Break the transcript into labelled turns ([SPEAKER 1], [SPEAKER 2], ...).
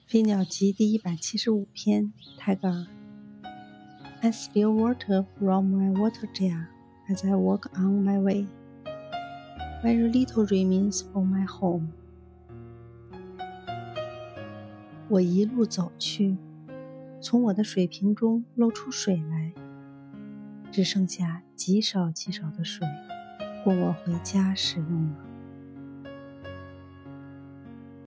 [SPEAKER 1] 飞鸟集第175篇，泰戈尔。I spill water from my water jar as I walk on my way. Very little remains for my home. 我一路走去，从我的水瓶中漏出水来，只剩下极少极少的水供我回家使用了。